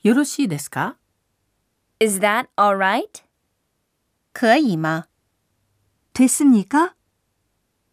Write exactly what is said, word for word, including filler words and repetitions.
よろしいですか？ Is that all right? 可以吗？ 됐습니까?